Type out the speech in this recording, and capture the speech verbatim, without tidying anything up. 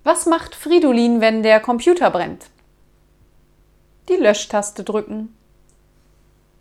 Was macht Fridolin, wenn der Computer brennt? Die Löschtaste drücken.